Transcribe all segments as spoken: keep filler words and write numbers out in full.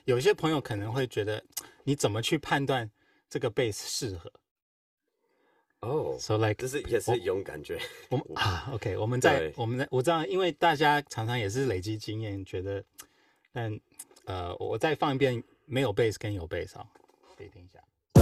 有些朋友可能會覺得，你怎麼去判斷這個 bass 適合？ 哦、 oh, ，so like 這是也是一種感覺。 我們啊 ，OK， 我們在我們在我知道，因為大家常常也是累積經驗，覺得，但呃，我再放一遍沒有 bass 跟有 bass 啊，可以聽一下。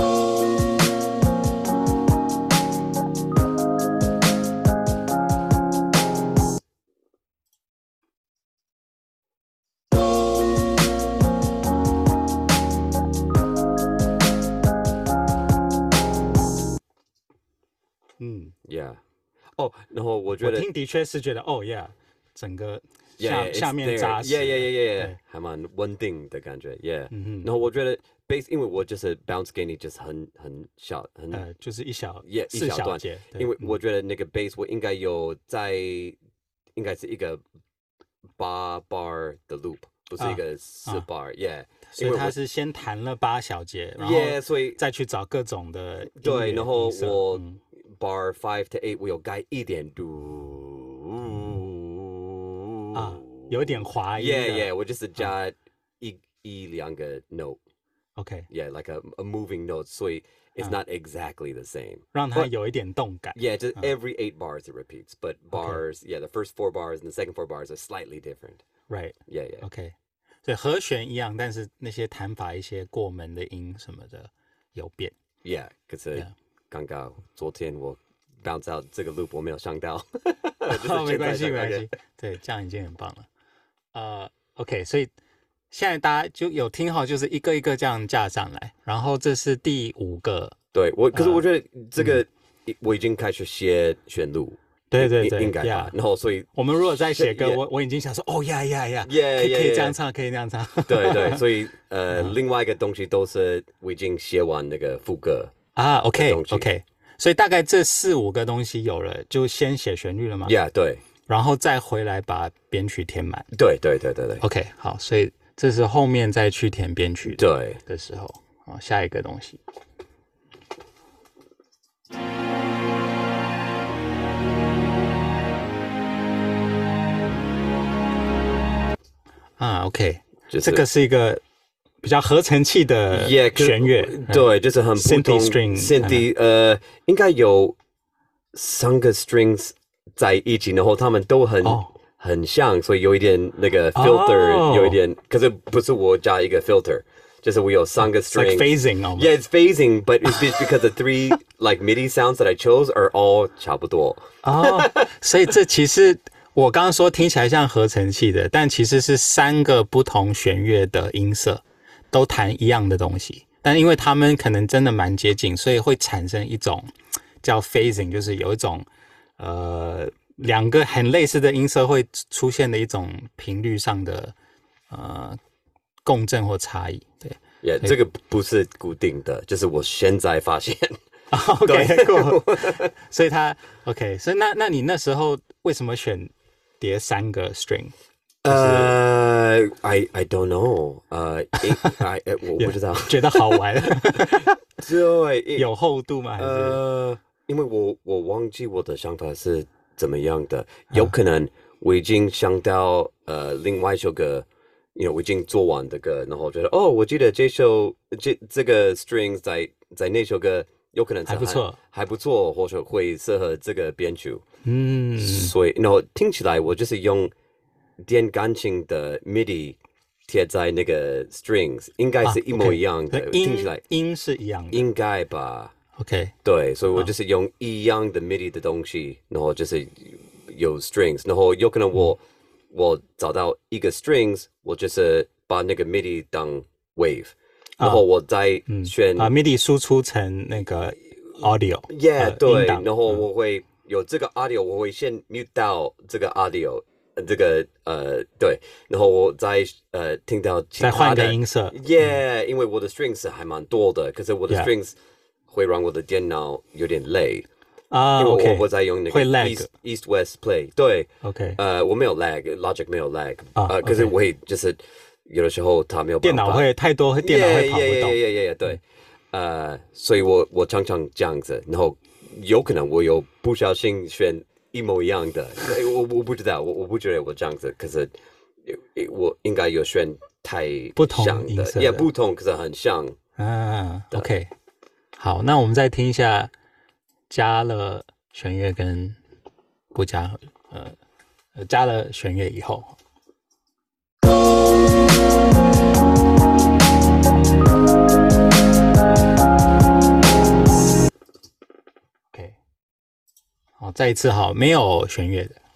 嗯 ，Yeah， 哦，然後我覺得我聽的確是覺得，哦 ，Yeah， 整個下 yeah, 下面扎實 ，Yeah Yeah Yeah Yeah， 還蠻穩定的感覺 ，Yeah，、嗯、然後我覺得 bass， 因為我就是 bounce 給你就是很很小，很呃，就是一小 ，Yeah， 一小段，因為我覺得那個 bass 我應該有在，應該是一個八 bar 的 loop， 不是一個四 bar，、啊、，Yeah。 所以他是先彈了八小節，然後再去找各種的音樂， 對，然後我、 嗯、 bar five to eight 我有改一點嘟啊，有一點滑音的 ，Yeah Yeah， 我就是加一、嗯、一兩個 note，OK，Yeah，like、okay. a a moving note， 所以 it's、啊、not exactly the same， 讓它有一點動感 ，Yeah， just every eight bars it repeats，but bars，Yeah，the first four bars and the second four bars are slightly different，Right，Yeah Yeah，OK。所以和弦一樣，但是那些彈法、一些過門的音什麼的有變。 Yeah， 可是剛剛昨天我 bounce out 這個 loop 我沒有上到。 哦，沒關係，沒關係。對，這樣已經很棒了。呃 ，OK， 所以現在大家就有聽好，就是一個一個這樣架上來，然後這是第五個。 對我，可是我覺得這個、嗯、我已經開始寫旋律。 對對對， 應該吧。然後，所以我們如果在寫歌，我我已經想說，哦呀呀呀，可以可以這樣唱，可以這樣唱。 對對，所以呃，另外一個東西都是我已經寫完那個副歌啊。OK OK， 所以大概這四五個東西有了，就先寫旋律了嗎 ？Yeah， 對， 然後再回來把編曲填滿。 對對對對對。 OK， 好，所以這是後面再去填編曲對的時候，好，下一個東西。啊 ，OK，、就是、這個是一個比較合成器的弦樂， yeah, 對，就是很不同 Synth string， 呃，應該有三個 strings 在一起，然後他們都很、oh. 很像，所以有一點那個 filter，、oh. 有一點，可是不是我加一個 filter， 就是我有三個 strings， like phasing almost. Yeah, it's phasing, but it's because the three like MIDI sounds that I chose are all 差不多。 哦， oh, 所以這其實。我剛剛說聽起來像合成器的，但其實是三個不同弦樂的音色都彈一樣的東西，但因為他們可能真的蠻接近，所以會產生一種叫 phasing， 就是有一種呃兩個很類似的音色會出現的一種頻率上的呃共振或差異。對， 也、yeah, 這個不是固定的，就是我現在發現。 OK， cool 所以他 OK， 所以那那你那時候為什麼選？疊三個 string， 呃、uh, ，I I don't know，呃、uh, 我不知道， 覺得好玩， 對， 有厚度嗎？還是呃，因為我我忘記我的想法是怎麼樣的，有可能我已經想到呃另外一首歌，因為我已經做完這個，然後覺得哦，我記得這首這這個 strings 在在那首歌。有可能還不錯， 還不錯，或者會適合這個編曲。 嗯， 所以，然後聽起來我就是用電鋼琴的 MIDI 貼在那個 strings， 應該是一模一樣的。 啊 okay、 聽起來音是一樣的， 應該吧 ？OK， 對，所以我就是用一樣的 MIDI 的東西，然後就是有 strings， 然後有可能我、嗯、我找到一個 strings， 我就是把那個 MIDI 當 wave。然後我再選、 嗯、把 MIDI 輸出成那個 audio，Yeah，、 呃、對，然後我會有這個 audio，、嗯、我會先 mute 到這個 audio，、呃、這個呃對，然後我再呃聽到其他的， 再換個音色 ，Yeah，、嗯、因為我的 strings 還蠻多的，可是我的 strings、yeah. 會讓我的電腦有點累啊， 因為我、 okay. 我在用那個 East East West Play， 對 ，OK， 呃我沒有 lag，Logic 沒有 lag，、 啊、 呃，可是我會就是。有的時候它沒有辦法， 電腦會太多，電腦會跑不動。 Yeah, yeah, yeah, yeah, 對，呃、uh, ，所以我我常常這樣子，然後有可能我有不小心選一模一樣的，我我不知道，我我不覺得我這樣子，可是我應該有選太不同像的， 音色的也不同，可是很像。 啊 ，OK， 好，那我們再聽一下加了弦樂跟不加，呃，加了弦樂以後。OK， 好，再一次好，沒有弦樂的。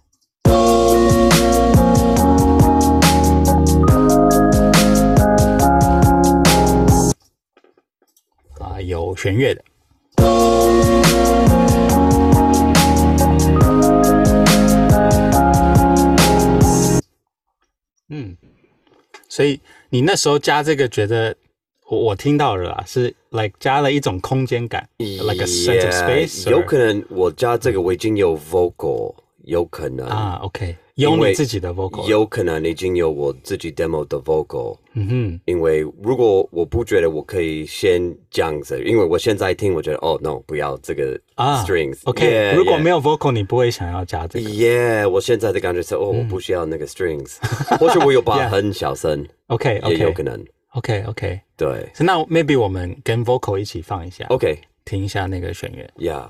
啊，有弦樂的。嗯，所以你那時候加這個，覺得我我聽到了啦，是 like 加了一種空間感 ，like a sense of space。 有可能我加這個我已經有 vocal，有可能啊 ，OK， 有你自己的 vocal， 有可能已經有我自己 demo 的 vocal。 嗯哼， 因為如果我不覺得我可以先這樣子，因為我現在聽，我覺得哦 no， 不要這個 strings。 啊、OK，、yeah, 如果沒有 vocal，、yeah. 你不會想要加這個。 Yeah， 我現在的感覺是哦，我不需要那個 strings，、嗯、或者我有把很小聲。 OK， 也有可能。 OK OK， 對。 So, 那 maybe 我們跟 vocal 一起放一下。 OK， 聽一下那個弦樂。 Yeah。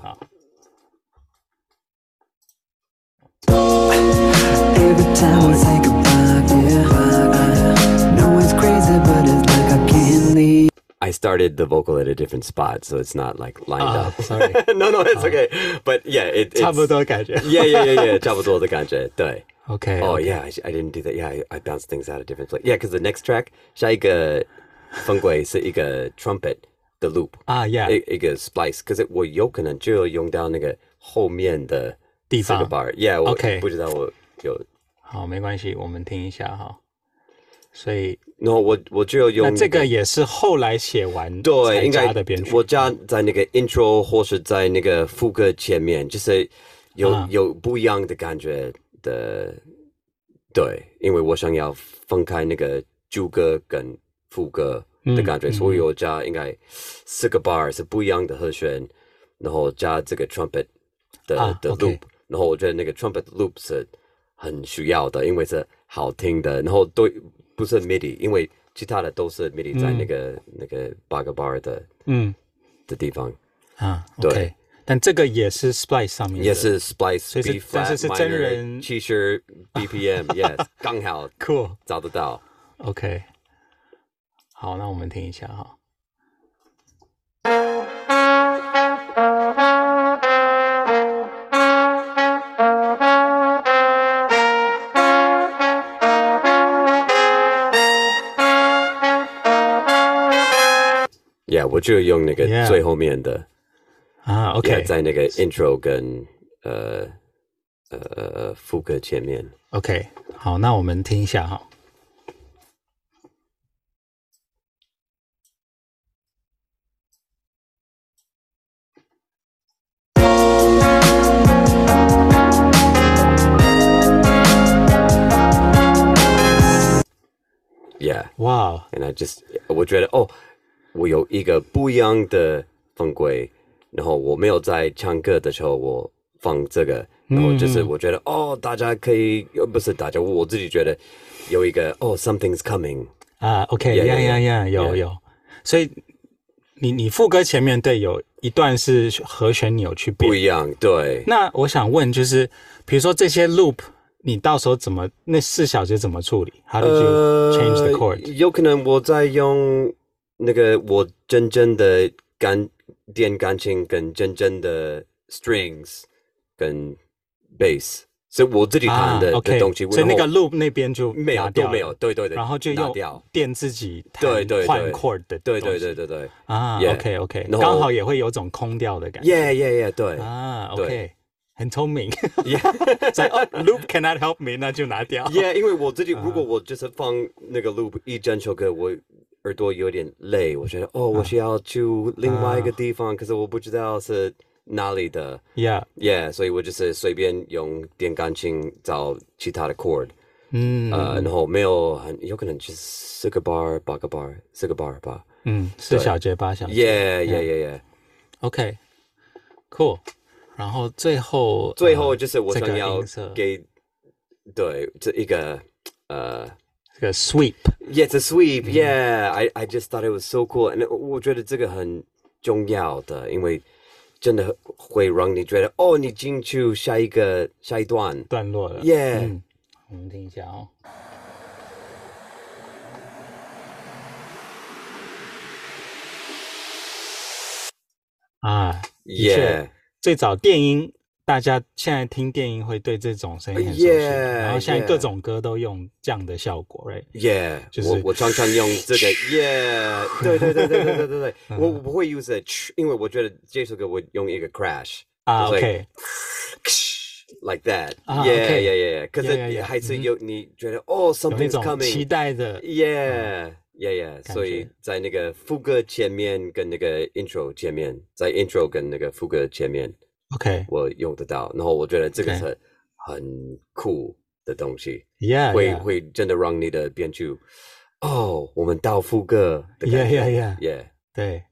Every time we say goodbye, yeah, I know it's crazy, but it's like I can't leave. I started the vocal at a different spot, so it's not like lined uh, up. Sorry. no, no, it's uh, okay. But yeah, it, it's 差不多感覺。 Yeah, yeah, yeah, yeah. 差不多的感覺。對。 Okay. Oh okay. yeah, I, I didn't do that. Yeah, I, I bounced things out of different places. Yeah, because the next track 下一個分軌是一個 trumpet 的 loop 啊 ，Yeah， 一一個 splice。可是我有可能就用到那個後面的地方 bar。Yeah， 我 OK， 不知道我有。 好，沒關係，我們聽一下哈。所以， 然後我我就用、那個、 那這個也是後來寫完才加的編曲。 我加在那個 intro 或是在那個副歌前面，就是有、啊、有不一樣的感覺的。對，因為我想要分開那個主歌跟副歌的感覺，嗯、所以我加應該四個 bar 是不一樣的和弦，然後加這個 trumpet 的、啊、的 loop，、okay. 然後我覺得那個 trumpet loop 是很需要的，因為是好聽的，然後對不是 midi， 因為其他的都是 midi 在那個、嗯、那個八個 bar 的嗯的地方啊，對。Okay. 但這個也是 Splice 上面的， 也是 Splice， B flat， 但是是真人七十 B P M，Yes， 剛好 ，Cool， 找得到。 OK， 好，那我們聽一下哈。 Yeah， 我就用那個最後面的。 Yeah. 啊 ，OK， yeah, 在那個 intro 跟呃呃副歌前面 ，OK， 好，那我們聽一下哈。 Yeah， 哇 ，and I just 我覺得哦，我有一個不一樣的分軌。然後我沒有在唱歌的時候，我放這個，然後就是我覺得、嗯、哦，大家可以，不是大家，我自己覺得有一個哦 ，something's coming 啊 ，OK， 呀呀呀，有 yeah. 有，所以你你副歌前面對有一段是和弦你有去變， 不一樣，對。 那我想問就是，比如說這些 loop， 你到時候怎麼那四小節怎麼處理 ？How did you change the chord？、呃、 有可能我在用那個我真正的感。電鋼琴跟真正的 strings 跟 bass 是我自己彈的、啊 okay, 的東西， 所以那個 loop 那邊就沒有都沒有，對對對， 然後就用電自己彈換 chord 的東西， 對對對對對啊 ，OK OK， 剛好也會有種空調的感覺 ，Yeah Yeah Yeah， 對啊 OK， 很聰明 ，Yeah， 所以、oh, loop cannot help me， 那就拿掉 ，Yeah， 因為我自己如果我就是放那個 loop 一整首歌，我。耳朵有點累，我覺得哦，我需要去另外一個地方，啊、可是我不知道是哪裡的。 Yeah, yeah， 所以我就是隨便用電鋼琴找其他的 chord， 嗯， 呃，然後沒有很有可能就是四個 bar 八個 bar 四個 bar 吧， 嗯，四小節八小節 ，Yeah Yeah Yeah Yeah，OK， cool， 然後最後最後就是我想要給、這個、對這一個呃。 這個 sweep。 Yeah, it's a sweep. Yeah, I I just thought it was so cool. And 我覺得這個很重要的，因為真的會讓你覺得哦，你進去下一個下一段段落了。 Yeah，、 嗯、我們聽一下哦。啊，的確 Yeah， 最早電音，大家現在聽電音會對這種聲音很熟悉， Yeah, 然後現在 yeah. 各種歌都用這樣的效果 ，right？ Yeah， 就是我我常常用這個 Yeah， 對對對對對對對對，我我不會 use it， 因為我覺得這首歌我用一個 crash 啊 ，OK，like、okay. that， 啊 yeah, okay. yeah yeah， 可 yeah, yeah, 是 yeah. 還是有你覺得哦 something's coming， 期待的 ，Yeah。Yeah, yeah. 所以在那個副歌前面跟那個 intro 前面，在 intro 跟那個副歌前面 ，OK， 我用得到。然後我覺得這個是很酷的東西 ，Yeah， 會 yeah. 會真的讓你的編曲，哦，我們到副歌的感覺 ，Yeah yeah yeah， yeah， 對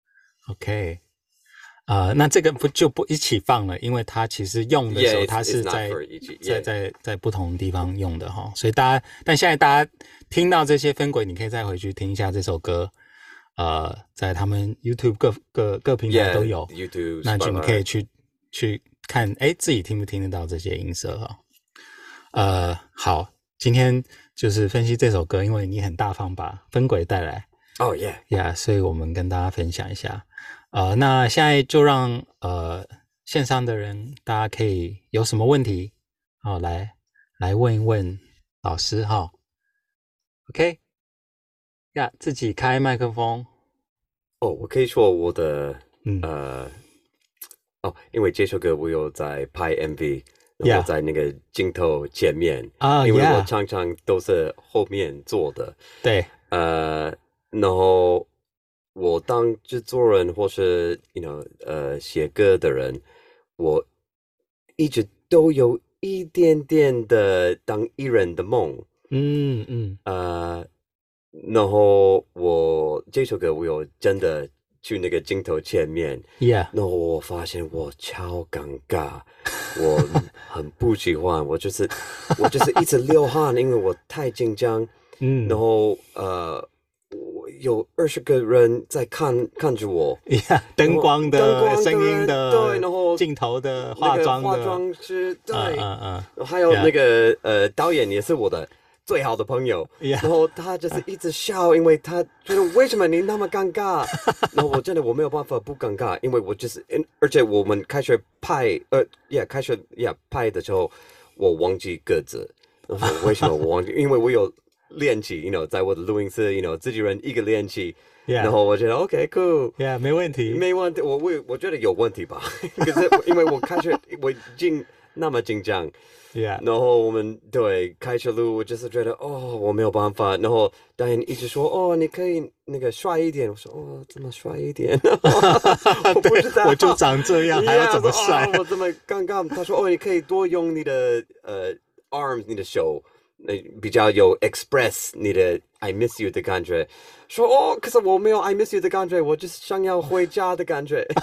，OK， 啊、呃，那這個不就不一起放了，因為它其實用的時候， yeah, 它是在 yeah. 在在在不同地方用的哈，所以大家，但現在大家聽到這些分軌，你可以再回去聽一下這首歌，呃，在他們 YouTube 各各各平台都有 yeah, YouTube， 那你們可以去去看，哎，自己聽不聽得到這些音色哈？呃，好，今天就是分析這首歌，因為你很大方把分軌帶來， 哦、oh, yeah， yeah， 所以我們跟大家分享一下。呃，那現在就讓呃線上的人，大家可以有什麼問題，好、哦、來來問一問老師哈、哦。OK， 呀、yeah，自己開麥克風。 哦，我可以說我的， 嗯呃，哦，因為這首歌我有在拍 M V， 然後在那個鏡頭前面啊，yeah. 因為我常常都是後面做的， 對， 呃，然後。我當製作人或是 you know 呃寫歌的人，我一直都有一點點的當藝人的夢， 嗯嗯， 呃，然後我這首歌我有真的去那個鏡頭前面 ，Yeah， 然後我發現我超尷尬，我很不喜歡，我就是我就是一直流汗，因為我太緊張，嗯，然後呃。有二十個人在看看着我， 呀，燈光的、聲音的， 對，然後鏡頭的、化妝的， 化妝師，對， 嗯嗯嗯， 還有那個、yeah. 呃導演也是我的最好的朋友， yeah. 然後他就是一直笑，因為他覺得為什麼你那麼尷尬？然後我真的我沒有辦法不尷尬，因為我就是，而且我們開始拍，呃，呀，開始呀拍的時候，我忘記歌詞，然後為什麼我忘記？因為我有。練習 you know 在我的錄音室 you know 自己人一個練習 yeah. 然後我覺得 OK cool yeah 沒問題沒問題我我我覺得有問題吧可是因為我開始我已經那麼緊張 yeah 然後我們對開始錄我就是覺得哦我沒有辦法然後導演一直說哦你可以那個帥一點我說哦怎麼帥一點我不知道我就長這樣 yeah, 還要怎麼帥、 哦、我這麼尷尬他說哦你可以多用你的呃 arms 你的手比較有 express 你的 I miss you 的感覺，說哦，可是我沒有 I miss you 的感覺，我就是想要回家的感覺。 了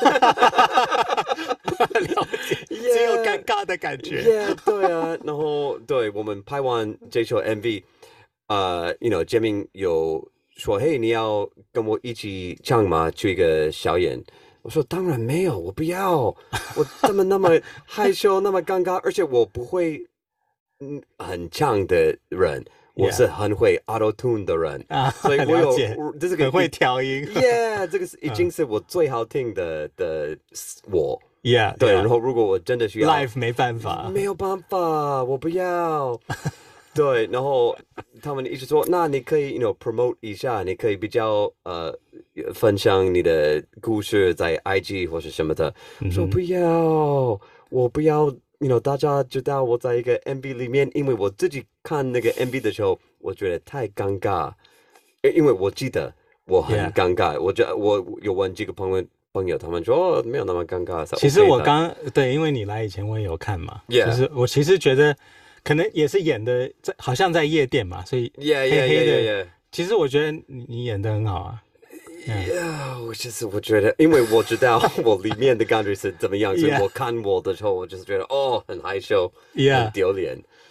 解， yeah, 只有尷尬的感覺。 Yeah, 對啊，然後對我們拍完這首 M V， 呃、uh, ，you know， 建明有說，嘿，你要跟我一起唱嗎？去一個小演。我說當然沒有，我不要，我怎麼那麼害羞，那麼尷尬，而且我不會。很強的人，我是很會 auto tune 的人， 啊， 所以我有這是個很會調音 ，Yeah， 這個是已經是我最好聽的的我 ，Yeah， 對。 yeah. 然後如果我真的需要 live 沒辦法， 沒有辦法，我不要。對，然後他們一直說，那你可以 you know promote 一下，你可以比較呃分享你的故事在 I G 或是什麼的。我說不要，我不要。You know, 大家知道我在一個 M V 裡面，因為我自己看那個 M V 的時候，我覺得太尷尬，因為我記得我很尷尬。Yeah. 我覺得我有問幾個朋友，朋友他們說哦，沒有那麼尷尬。 其實我剛對，因為你來以前我也有看嘛，yeah. 就是我其實覺得可能也是演的在，好像在夜店嘛，所以黑黑的。 Yeah, yeah, yeah, yeah. 其實我覺得你演得很好啊。 Yeah, 我就是我覺得，因為我知道我裡面的感覺是怎麼樣， yeah. 所以我看我的時候，我就是覺得哦，很害羞， yeah. 很丟臉。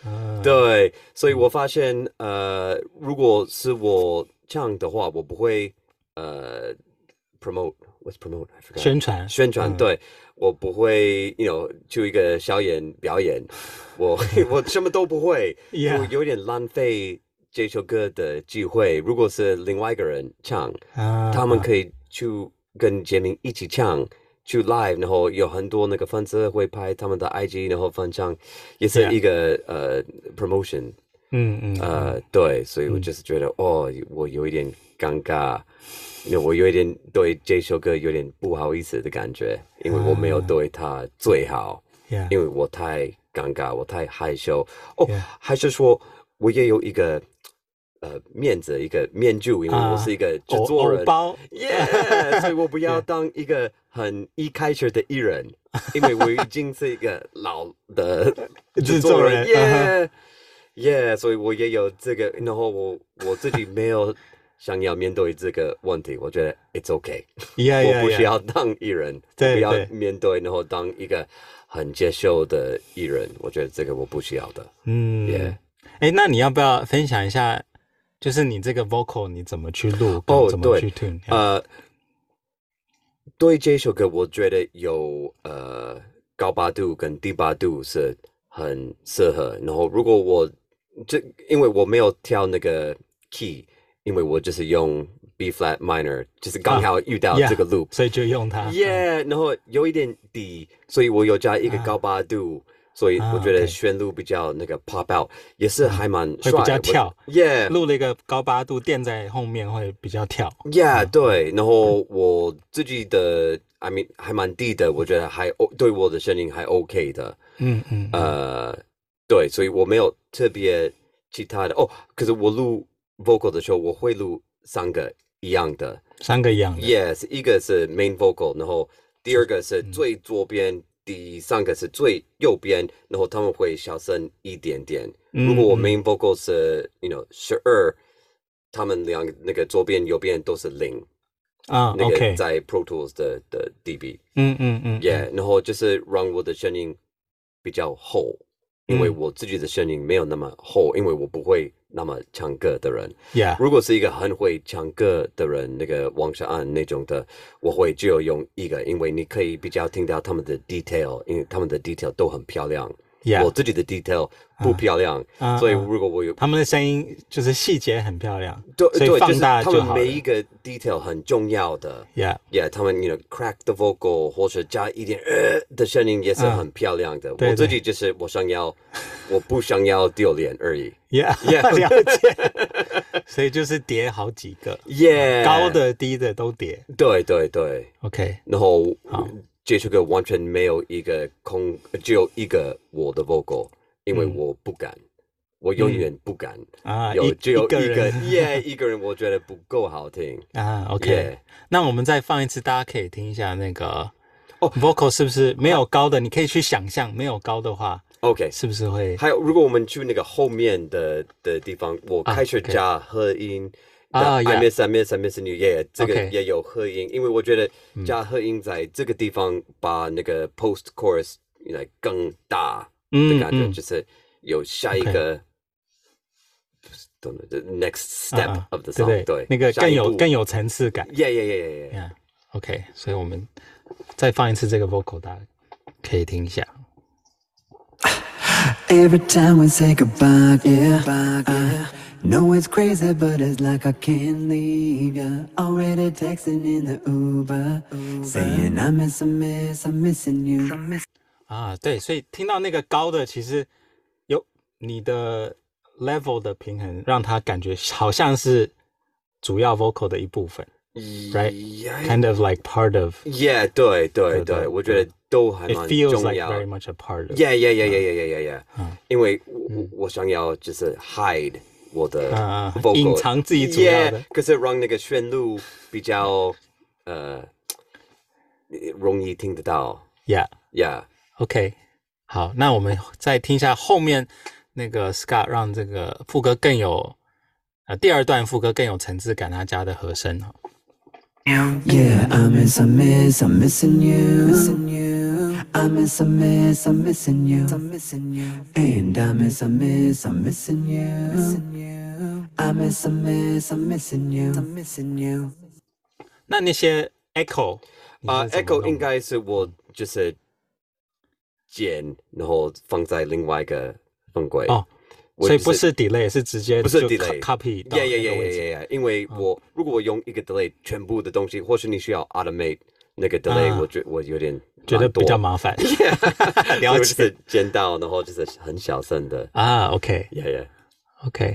嗯、 對，所以我發現，呃，如果是我唱的話，我不會呃 promote，what's promote？I forgot。 宣傳宣傳，嗯、對，我不會 ，you know，去一個小演表演，我我什麼都不會， yeah. 我有點浪費這首歌的機會。如果是另外一個人唱，啊、他們可以去跟傑明一起唱。去 live， 然後有很多那個粉絲會拍他們的 I G， 然後分享，也是一個、yeah. 呃 promotion， 嗯嗯， 呃對，所以我就是覺得、嗯、哦，我有一點尷尬，因為我有一點對這首歌有點不好意思的感覺，因為我沒有對他最好，啊、因為我太尷尬，我太害羞。哦， yeah. 還是說我也有一個。呃，面子一個面具，因為我是一個製作人， 包， 耶、yeah, 所以我不要當一個很一開始的藝人，因為我已經是一個老的製作人，耶耶，所以我也有這個，然後我我自己沒有想要面對這個問題，我覺得 it's okay， yeah, yeah, 我不需要當藝人， 對， 不要面對，然後當一個很接受的藝人，我覺得這個我不需要的， 嗯， 耶， 哎，那你要不要分享一下？就是你這個 vocal 你怎麼去錄？哦，怎麼去 tune？ 呃，對這首歌，我覺得有呃高八度跟低八度是很適合。然後，如果我這因為我沒有調那個 key，因為我就是用 B flat minor， 就是剛好遇到這個 loop，、 啊 yeah, 所以就用它。 Yeah，、嗯、然後有一點低，所以我有加一個高八度。啊所以我覺得旋律比較那個 pop out，、啊 okay. 也是還蠻帥的， 會比較跳。 Yeah， 錄了一個高八度墊在後面會比較跳。 Yeah，、嗯、對。然後我自己的 I mean 還蠻低的，我覺得還對我的聲音還 OK 的。嗯嗯。呃，對，所以我沒有特別其他的哦。可是我錄 vocal 的時候，我會錄三個一樣的， 三個一樣的。 Yes， 一個是 main vocal， 然後第二個是最左邊。嗯第三個是最右邊，然後他們會小聲一點點。嗯、如果我 main vocal 是 you know 十二，他們兩個那個左邊右邊都是零啊。 那個 OK， 在 Pro Tools 的的 dB。 嗯嗯嗯。 Yeah， 然後就是讓我的聲音比較厚，因為我自己的聲音沒有那麼厚，因為我不會那麼唱歌的人。 Yeah， 如果是一個很會唱歌的人，那個王世安那種的，我會只有用一個，因為你可以比較聽到他們的 detail， 因為他們的 detail 都很漂亮。Yeah， 我自己的 detail 不漂亮，啊、所以如果我有、啊、 他們的聲音就是細節很漂亮， 對， 所以放大就好了。 就是、他們每一個 detail 很重要的。Yeah， yeah， 他們 you know crack the vocal 或者加一點呃的聲音也是很漂亮的。啊、我自己就是我想要，我不想要丟臉而已。 Yeah， yeah， 了解。所以就是疊好幾個 ，Yeah， 高的低的都疊。 對對對 ，OK， 然後好。這首歌完全沒有一個空，只有一個我的 vocal， 因為我不敢，嗯、我永遠不敢、嗯、啊，有只有一個，耶， yeah, 一個人我覺得不夠好聽啊。OK，、yeah. 那我們再放一次，大家可以聽一下那個哦 ，vocal 是不是沒有高的？你可以去想象，沒有高的話 ，OK， 是不是會？還有，如果我們去那個後面的的地方，我開始加和音。啊、oh, yeah. I miss, I miss, I miss you. Yeah， 這個也有合音， okay. 因為我覺得加合音在這個地方把那個 post chorus 來更大的感覺，嗯、就是有下一個、okay. the next step of the song，、uh, 對, 對, 對， 那個更有更有層次感。 Yeah, yeah, yeah, yeah, yeah. OK， 所以我們再放一次這個 vocal， 大家可以聽一下。 Every time we say goodbye, yeah, uh, know it's crazy, but it's like I can't leave ya. Already texting in the Uber, Uber. Saying I miss, I miss, I'm missing you. 啊，對，所以聽到那個高的，其實有你的 level 的平衡，讓他感覺好像是主要 vocal 的一部分。Right, yeah. kind of like part of. Yeah, 對對對，我覺得都還蠻重要。 It feels like very much a part of. Yeah, yeah, yeah, yeah, yeah, yeah, yeah, yeah. 嗯、因為我我想要就是 hide 我的 vocal， 隱藏自己主要的。 Yeah, 可是讓那個旋律比較呃容易聽得到。 Yeah, yeah. OK， 好，那我們再聽一下後面那個 Scott 讓這個副歌更有呃第二段副歌更有層次感，他加的和聲哈。 Yeah, I miss, I miss, I'm missing you, missing you. I miss, I miss, I'm missing you. I'm missing you. And I miss, I miss, I'm missing you. Missing you. I miss, I miss, I'm missing you. I'm missing you. 那那些 echo 啊、uh, ，echo 应该是我就是剪，然後放在另外一個分軌。哦， 所以不是 delay， 是直接不是 delay copy 到那個位置。 Yeah, yeah, yeah, yeah, yeah. 因為我、哦、如果我用一個 delay 全部的東西，或是你需要 automate 那個 delay，、啊、我覺我有點覺得比較麻煩。 了解，剪到然後就是很小聲的啊。OK， yeah, yeah. OK，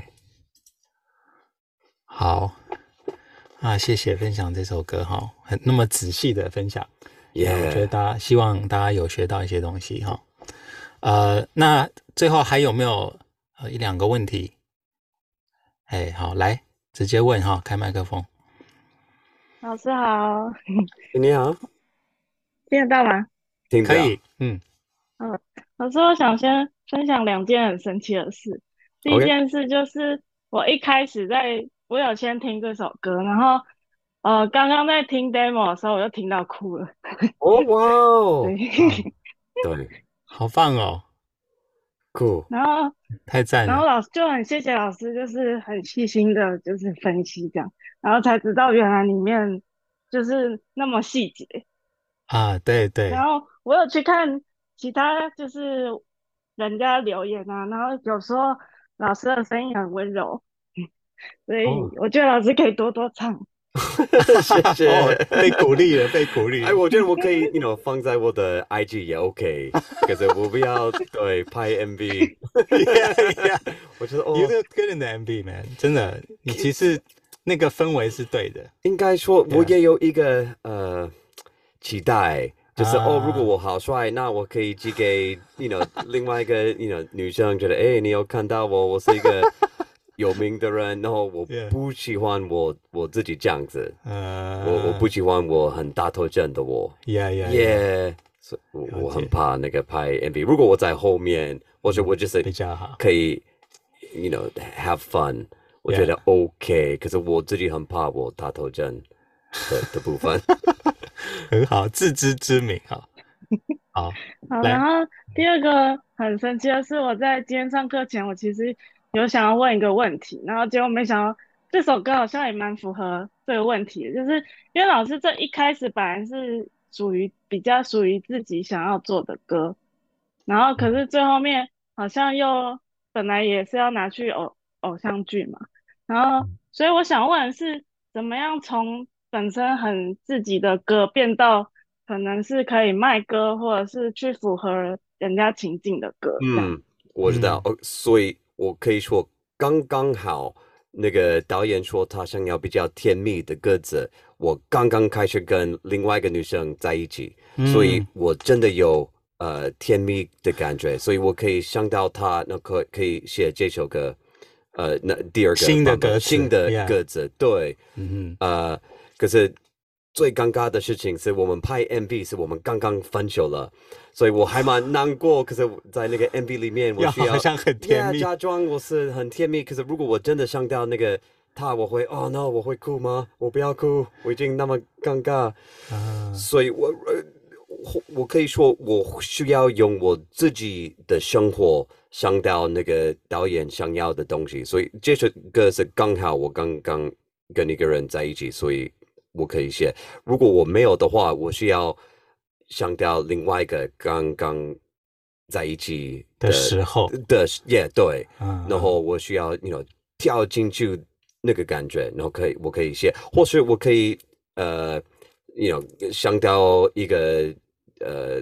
好。啊，謝謝分享這首歌哈，很那麼仔細的分享，也、yeah. 我覺得大家希望大家有學到一些東西哈。呃，那最後還有沒有呃一兩個問題？哎，好，來直接問哈，開麥克風。 老師好， 你好， 聽得到嗎？ 聽得到， 可以，嗯， 嗯，老師，我想先分享兩件很神奇的事。第一件事就是我一開始在。我有先聽這首歌，然後呃，剛剛在聽 demo 的時候，我就聽到哭了。 哦哇哦， 對， 對， 好棒哦， 酷。 然後太讚了。 然後老師就很謝謝老師，就是很細心的，就是分析這樣，然後才知道原來裡面就是那麼細節啊，對對。 然後我有去看其他就是人家留言啊，然後有時候老師的聲音很溫柔。所以我覺得老師可以多多唱。 謝謝、哦， 被鼓勵了，被鼓勵。 哎，我覺得我可以，you know， 放在我的 I G 也 OK， 可是我不要對拍 M V。 yeah, yeah. 我覺得哦 ，You look good in the M V, man， 真的，你其實那個氛圍是對的。 應該說，我也有一個呃期待，就是、啊、哦，如果我好帥，那我可以寄給 you know 另外一個 you know 女生，覺得哎，你有看到我，我是一個。有名的人，然後我不喜歡我、yeah. 我自己這樣子，uh, 我我不喜歡我很大頭症的我 ，yeah yeah yeah，, yeah. 所以我我很怕那個拍 M V。如果我在後面，或者我就是可以 ，you know have fun， 我覺得 OK。可是我自己很怕我大頭症的的部分， 很好，自知之明哈。好， 好，然後第二個很神奇的是，我在今天上課前，我其實。有想要問一個問題，然後結果沒想到這首歌好像也蠻符合這個問題的，就是因為老師這一開始本來是屬於比較屬於自己想要做的歌，然後可是最後面好像又本來也是要拿去偶偶像劇嘛，然後所以我想問的是怎麼樣從本身很自己的歌變到可能是可以賣歌或者是去符合人家情境的歌。 嗯，我知道，嗯哦、所以。我可以說剛剛好，那個導演說他想要比較甜蜜的歌詞，我剛剛開始跟另外一個女生在一起，嗯、所以我真的有呃甜蜜的感覺，所以我可以想到他，那可可以寫這首歌，呃，那第二個新的歌詞， 新的歌詞， yeah. 對， 嗯呃，可是最尷尬的事情是我們拍 M V 是我們剛剛分手了。所以我還蠻難過，可是在那個 M V 裡面，我需要好像很甜蜜， yeah, 假裝我是很甜蜜。可是如果我真的想到那個他，我會哦 no， 我會哭嗎？我不要哭，我已經那麼尷尬。啊、所以我我我可以說，我需要用我自己的生活想到那個導演想要的東西。所以這首歌是剛好我剛剛跟一個人在一起，所以我可以寫。如果我沒有的話，我需要。想到另外一個剛剛在一起 的, 的時候的 yeah 對、 嗯， 然後我需要 you know 跳進去那個感覺，然後可以我可以寫，或是我可以呃 you know 想到一個呃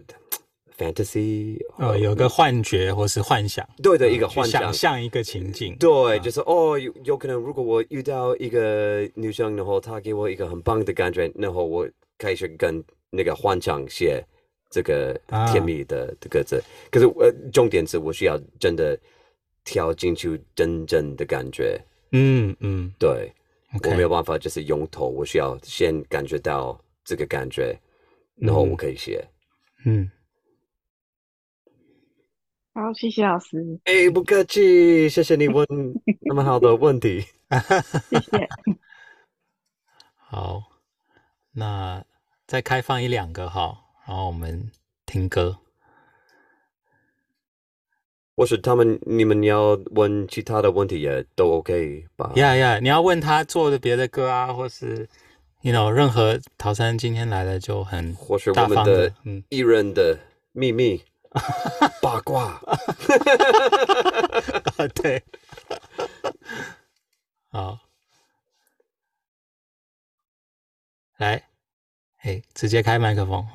fantasy 哦，有個幻覺或是幻想， 對對，一個幻想， 想象一個情境， 對，嗯、就是哦有有可能如果我遇到一個女生，然後她給我一個很棒的感覺，然後我開始跟那個幻想寫這個甜蜜的的歌詞，可是呃，重點是我需要真的跳進去真正的感覺。嗯嗯，對， okay. 我沒有辦法就是用頭，我需要先感覺到這個感覺，然後我可以寫。嗯， 好，謝謝老師。 哎，不客氣，謝謝你問那麼好的問題。 謝謝。 好，那。再開放一兩個哈，然後我們聽歌。 或是他們你們要問其他的問題也都 OK 吧？ 呀呀，你要問他做的別的歌啊，或是 you know 任何陶山今天來了就很或是我大方們的嗯藝人的秘密八卦。 對，好，來，哎，直接開麥克風。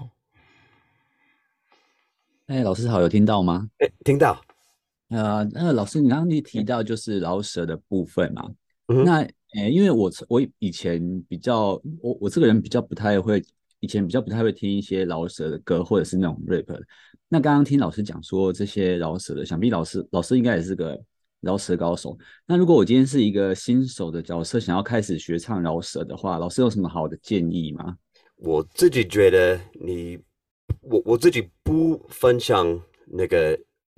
哎，老師好，有聽到嗎？ 哎，聽到。 呃，那老師，你剛剛你提到就是饒舌的部分嘛？ 嗯、 那，誒，因為我我以前比較，我我這個人比較不太會，以前比較不太會聽一些饒舌的歌，或者是那種 rap。那剛剛聽老師講說這些饒舌的，想必老師老師應該也是個饒舌高手。那如果我今天是一個新手的角色，想要開始學唱饒舌的話，老師有什麼好的建議嗎？ 我自己覺得你，我我自己不分享那個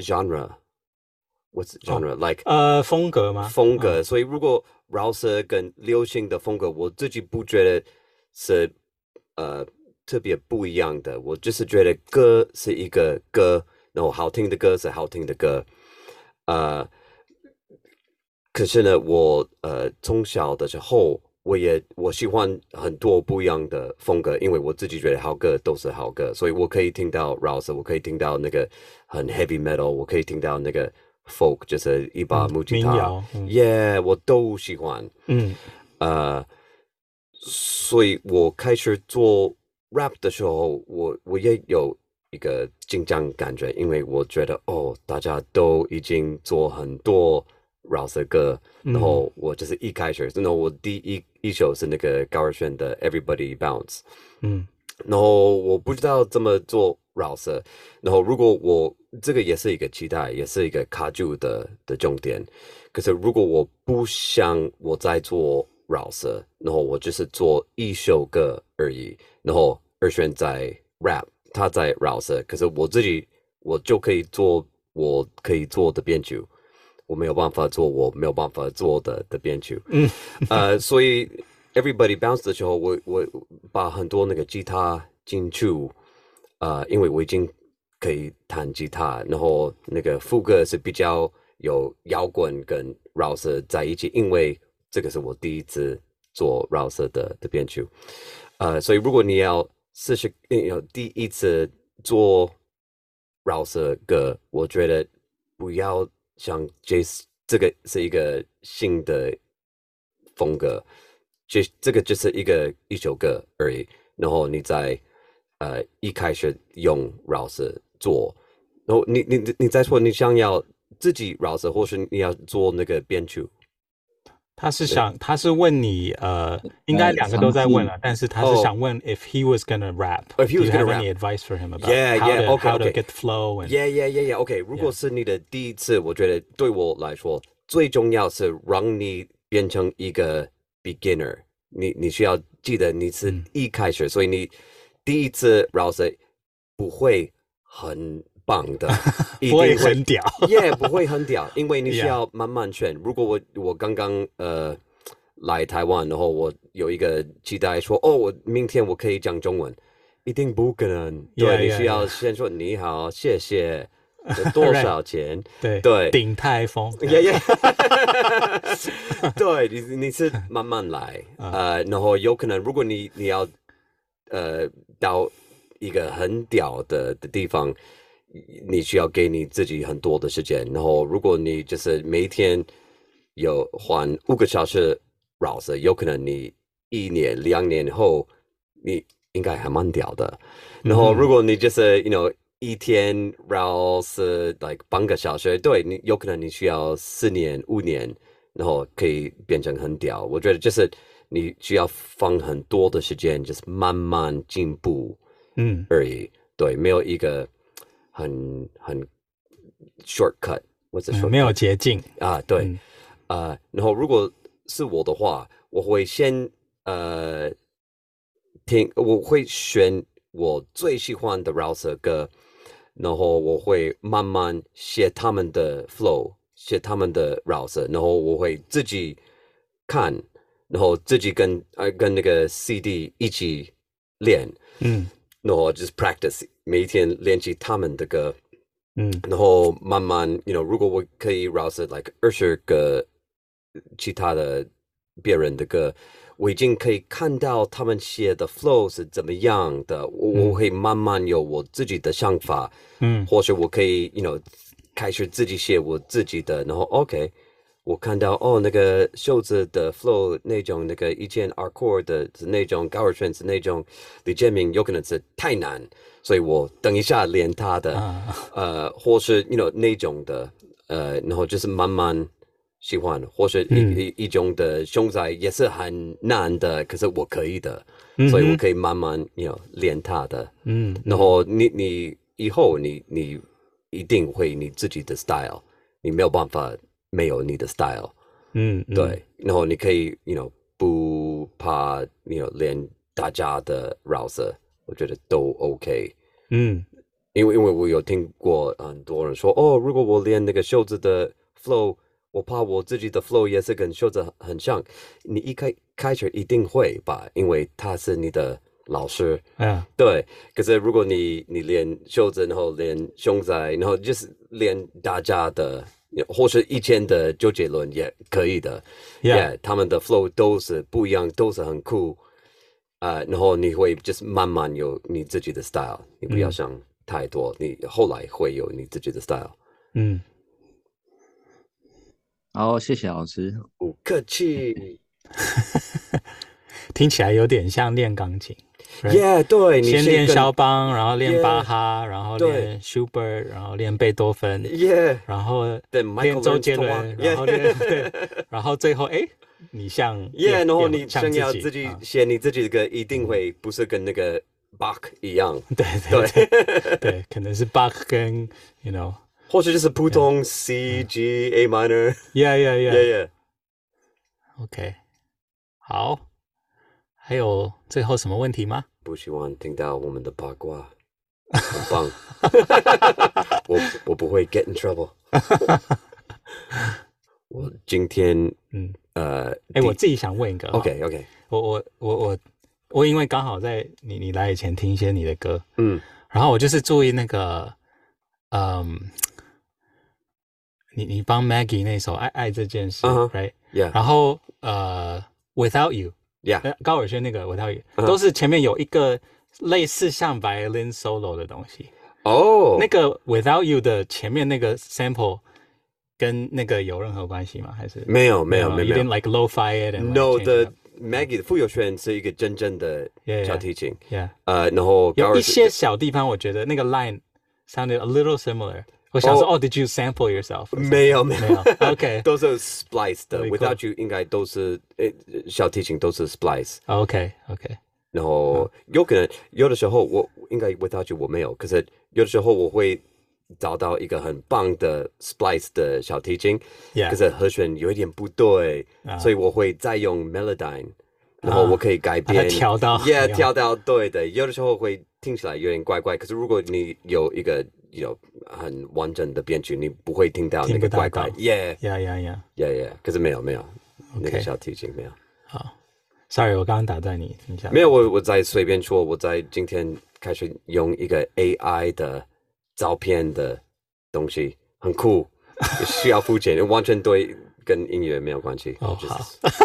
genre。What's genre、oh, like？ 呃，風格嗎？ 風格， 嗯、 所以如果饒舌跟流行的風格，我自己不覺得是呃特別不一樣的。我就是覺得歌是一個歌，然後好聽的歌是好聽的歌。呃，可是呢，我呃從小的時候，我也我喜歡很多不一樣的風格，因為我自己覺得好歌都是好歌，所以我可以聽到饒舌，我可以聽到那個很 heavy metal， 我可以聽到那個。folk 就是一把木吉他，耶、嗯 yeah, 我都喜歡。嗯，呃，所以我開始做 rap 的時候，我我也有一個緊張感覺，因為我覺得哦，大家都已經做很多饒舌歌，然後我就是一開始，然後我第一一首是那個高爾宣的 Everybody Bounce， 嗯，然後我不知道怎麼做饒舌，然後如果我這個也是一個期待，也是一個卡住的的重點。可是如果我不想我在做饒舌，然後我就是做一首歌而已，然後二選在 rap， 他在饒舌，可是我自己我就可以做我可以做的編曲，我沒有辦法做我沒有辦法做的的編曲。嗯，呃，所以 Everybody Bounce 的時候，我我把很多那個吉他進去。呃，因為我已經可以彈吉他，然後那個副歌是比較有搖滾跟饒舌在一起，因為這個是我第一次做饒舌的的編曲，呃，所以如果你要試試有第一次做饒舌歌，我覺得不要像 Jace 這個是一個新的風格，這這個就是一個一首歌而已，然後你再。呃，一開始用饒舌做，然後你你你再說你想要自己饒舌，或是你要做那個編曲？ 他是想，他是問你，呃，應該兩個都在問了，但是他是想問 if he was gonna rap，if he was gonna rap， any advice for him about yeah how yeah to okay how to okay get flow and yeah yeah yeah yeah OK， 如果是你的第一次，我覺得對我來說最重要是讓你變成一個 beginner， 你你需要記得你是一開始，所以你。第一次饒舌不會很棒的，一定會不會很屌， 耶， yeah, 不會很屌，因為你需要慢慢學。如果我我剛剛呃來台灣，然後我有一個期待說，哦，我明天我可以講中文，一定不可能。對， yeah, 你需要先說 yeah, yeah. 你好，謝謝，多少錢？ 對對， 鼎泰豐， 耶耶，對你你是慢慢來，呃，然後有可能如果你你要。呃，到一個很屌的的地方，你需要給你自己很多的時間。然後，如果你就是每天有換五個小時饒舌，有可能你一年、兩年後，你應該還蠻屌的。然後，如果你就是 you know 一天饒舌 like 半個小時，對你有可能你需要四年、五年，然後可以變成很屌。我覺得就是。你需要放很多的時間，就是慢慢進步，嗯，而已。對，沒有一個很很 shortcut， 或者說沒有捷徑啊。對，嗯、呃，然後如果是我的話，我會先呃聽，我會選我最喜歡的饒舌歌，然後我會慢慢寫他們的 flow， 寫他們的饒舌，然後我會自己看。然後自己跟呃跟那個 C D 一起練，嗯，然後就是 practice，每一天練習他們的歌， 嗯，然後慢慢 you know 如果我可以饒舌 like 二十個其他的別人的歌，我已經可以看到他們寫的 flow 是怎麼樣的，我、嗯、我會慢慢有我自己的想法，嗯，或是我可以 you know 開始自己寫我自己的，然後 OK。我看到哦，那個袖子的 flow 那種，那個以前 hardcore 的那種高爾宣是那種李建明有可能是太難，所以我等一下練他的，啊、呃，或是 you know 那種的，呃，然後就是慢慢喜歡，或是一、嗯、一一種的熊仔也是很難的，可是我可以的，嗯、所以我可以慢慢 you know 練他的，嗯，然後你你以後你你一定會你自己的 style， 你沒有辦法。沒有你的 style， 嗯，對，嗯、然後你可以 ，you know， 不怕 ，you know， 練大家的饒舌，我覺得都 OK， 嗯，因為因為我有聽過很多人說，哦，如果我練那個袖子的 flow， 我怕我自己的 flow 也是跟袖子很像，你一開開始一定會吧，因為他是你的老師，啊，對，可是如果你你練袖子，然後練熊仔，然後就是練大家的。或是以前的周杰倫也可以的 ，Yeah， 他們的 flow 都是不一樣，都是很酷，呃，然後你會就是慢慢有你自己的 style， 你不要想太多，嗯、你後來會有你自己的 style。嗯， 好，謝謝老師， 不客氣。 聽起來有點像練鋼琴。 Yeah， 對， 先練肖邦，然後練巴哈， yeah, 然後練 Schubert， 然後練貝多芬 ，Yeah， 然後練周杰倫， yeah, 然後練對，然後最後哎，你像 Yeah， 然後你想要自己寫你自己的歌，一定會不是跟那個 Bach 一樣， 對對對，對，可能是 Bach 跟 you know， 或者就是普通 C G A minor，Yeah Yeah Yeah Yeah Yeah，OK， 好。還有最後什麼問題嗎？ 不希望聽到我們的八卦，很棒。我我不會 get in trouble。我今天嗯呃， 哎，我自己想問一個。 OK OK， 我我我我我因為剛好在你你來以前聽一些你的歌，嗯，然後我就是注意那個，嗯，你你幫 Maggie 那首《愛愛這件事》uh-huh,，right？ Yeah。 然後呃 ，Without You。Yeah， 高爾宣那個 Without You，、uh-huh. 都是前面有一個類似像 violin solo 的東西。哦、oh. ，那個 Without You 的前面那個 sample 跟那個有任何關係嗎？還是沒有沒有沒有 ？You didn't like lo-fi it and no like the Maggie 的傅有宣是一個真正的小提琴。 Yeah，, yeah. 呃，然後有一些小地方我覺得那個 line sounded a little similar。我想說，哦、oh, ，Did you sample yourself？ 沒有沒有 ，OK， 都是 splice 的 ，Without You 應該都是誒小提琴都是 splice。OK OK， 然後有可能有的時候我應該 Without You 我沒有，可是有的時候我會找到一個很棒的 splice 的小提琴， yeah. 可是和弦有一點不對， uh-huh. 所以我會再用 Melodyne， 然後我可以改變， 調、uh-huh. 到 ，Yeah， 調到對的，有的時候會聽起來有點怪怪，可是如果你有一個有很完整的編曲，你不會聽到那個怪怪 ，Yeah， Yeah Yeah Yeah Yeah Yeah， 可是沒有沒有， okay. 那個小提琴沒有。 好 ，Sorry， 我剛剛打斷你，聽一下。 沒有，我我在隨便說，我在今天開始用一個 A I 的照片的東西，很酷，需要付錢，完全對跟音樂沒有關係。 哦，好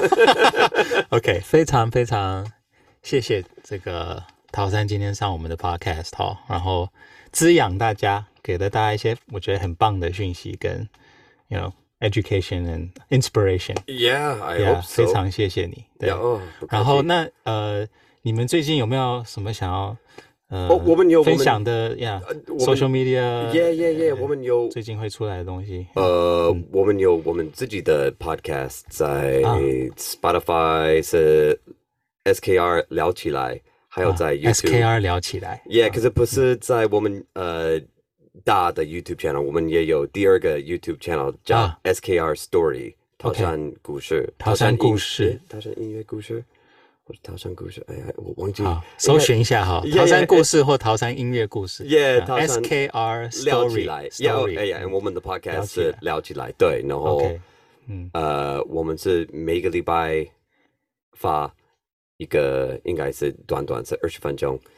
，OK， 非常非常謝謝這個陶山今天上我們的 Podcast 哈，然後滋養大家，給了大家一些我覺得很棒的訊息跟 you know education and inspiration。Yeah, I hope so. 非常謝謝你。對， yeah, oh, 然後那呃，你們最近有沒有什麼想要呃、 oh, 我們有分享的呀、yeah, ？Social media。Yeah Yeah Yeah， 我們有最近會出來的東西。 呃、嗯，我們有我們自己的 podcast 在 Spotify、啊、是 S K R 聊起來。還有在 YouTube、啊、S K R 聊起來 ，Yeah，、嗯、可是不是在我們呃大的 YouTube channel，、嗯、我們也有第二個 YouTube channel 叫 S K R Story，、啊、陶山故事， 陶山故事， 陶山音樂故事，或者陶山故事，哎呀，我忘記， 搜尋一下哈，陶山故事或陶山音樂故事 ，Yeah，S K R Story 聊起來 ，Yeah， 哎呀，我們的 podcast 是聊起來，對，然後、okay, 嗯，呃，我們是每個禮拜發。一個應該是短短是二十分鐘，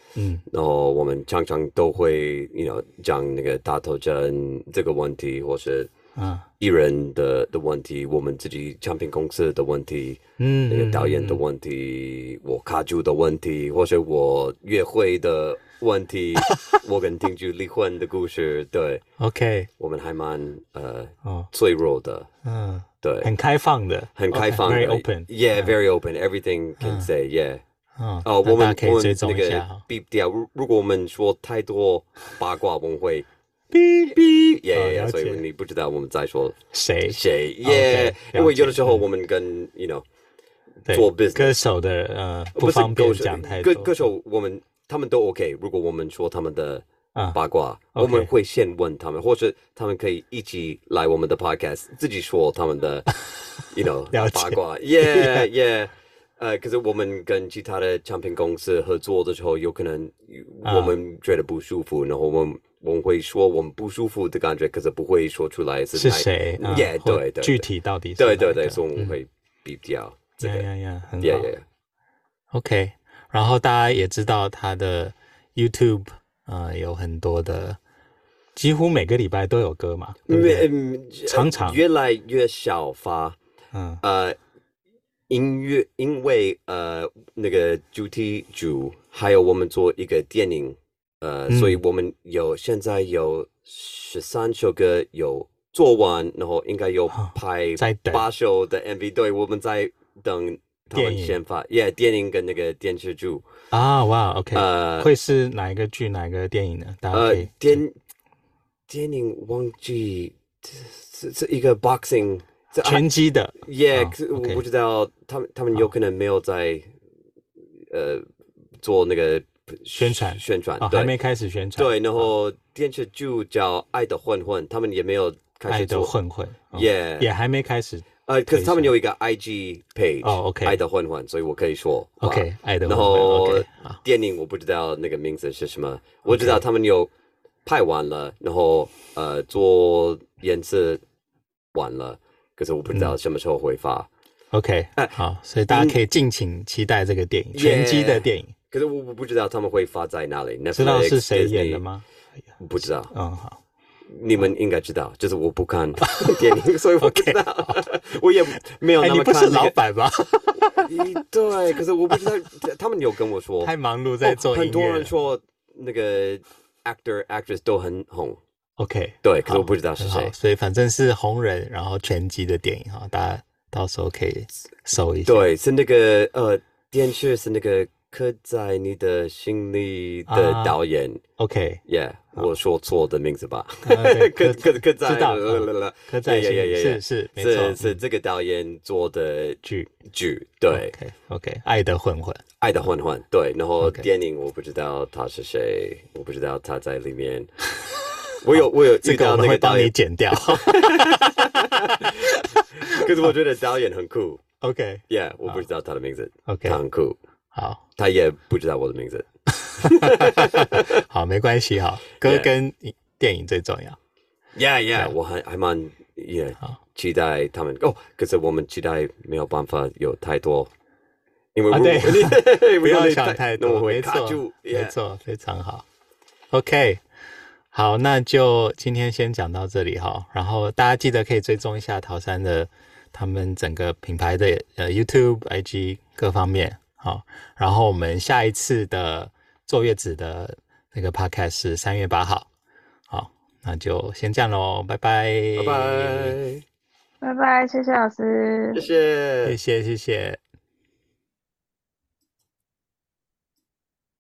嗯，然後我們常常都會，you know，講那個大頭針這個問題，或是啊藝人的的問題，我們自己唱片公司的問題，嗯，那個導演的問題，我卡住的問題，或是我約會的問題，我跟丁菊離婚的故事，對 ，OK， 我們還蠻呃、哦、脆弱的，嗯，對， 很開放的， 很開放的 ，very open，yeah，very open，everything can say，yeah。 哦， 哦，我們可以追蹤一下。 那個 beep 掉，如如果我們說太多八卦，我們會 beep beep，耶，所以你不知道我們在說誰誰耶，因為有的時候我們跟 you know 做 business 歌手的呃不方便講太多， 歌歌手我們他們都 OK， 如果我們說他們的八卦，我們會先問他們，或者他們可以一起來我們的 podcast， 自己說他們的 you know 八卦，耶耶。呃，可是我們跟其他的唱片公司合作的時候，有可能我們覺得不舒服，然後我們我們會說我們不舒服的感覺，可是不會說出來是誰， 耶，對對， 具體到底是對對對，所以我們會比較這個， 呀呀，很好。OK，然後大家也知道他的 YouTube 呃有很多的，幾乎每個禮拜都有歌嘛，對不對？常常越來越少發，嗯呃。音樂，因為呃那個主題曲，還有我們做一個電影，呃，嗯、所以我們有現在有十三首歌有做完，然後應該有拍八首的 M V，、哦、對，我們在等他們先發，耶，電影跟那個電視劇啊，哇 ，OK，呃，會是哪一個劇，哪一個電影呢？大家可以呃，電電影忘記是是一個 boxing。 拳擊的， 耶，可是我不知道他們他們有可能沒有在呃做那個宣傳宣傳， 還沒開始宣傳。 對，然後電視劇叫《愛的混混》，他們也沒有開始做。 愛的混混， 耶， 也還沒開始。 呃，可是他們有一個 I G page， 哦，OK， 愛的混混，所以我可以說 OK， 愛的混混。然後電影我不知道那個名字是什麼，我知道他們有拍完了，然後呃做顏色完了。可是我不知道什麼時候會發。 嗯、OK，、啊、好，所以大家可以敬請期待這個電影，拳擊、yeah, 的電影。 可是我我不知道他們會發在哪裡。 知道是誰演的嗎？ 不知道。 嗯，好， 你們應該知道，就是我不看電影，所以我不知道。Okay, 我也沒有那麼看、那個。 你不是老闆嗎？ 對，可是我不知道，他們有跟我說， 太忙碌在做音樂、哦。 很多人說那個 actor actress 都很紅。 OK， 對，可是我不知道是誰， 所以反正是紅人，然後拳擊的電影哈，大家到時候可以搜一下。 對，是那個呃，電視是那個刻在你的心裡的導演。啊、OK，Yeah，、okay, 我說錯的名字吧？刻刻刻在， 知道，刻在心裡，是是沒錯， 是是這個導演做的劇劇。對 ，OK OK， 愛的混混， 愛的混混，對。然後電影我不知道他是誰，我不知道他在裡面。我有我有遇到那個導演， 這個我們會幫你剪掉。 可是我覺得導演很酷。 OK，Yeah，、 okay. 我不知道他的名字。 OK， 他很酷。 好， 他也不知道我的名字。 好，沒關係哈，歌跟電影最重要。 Yeah Yeah， 我還還蠻也期待他們哦。可是我們期待沒有辦法有太多，因為、 啊、對，不要想太多，沒錯，沒錯，非常好。OK。好，那就今天先講到這裡哈。然後大家記得可以追蹤一下桃山的他們整個品牌的呃 YouTube、I G 各方面。好，然後我們下一次的坐月子的那個 Podcast 是三月八號。好，那就先這樣嘍，拜拜， 拜拜， 拜拜，謝謝老師， 謝謝， 謝謝，謝謝。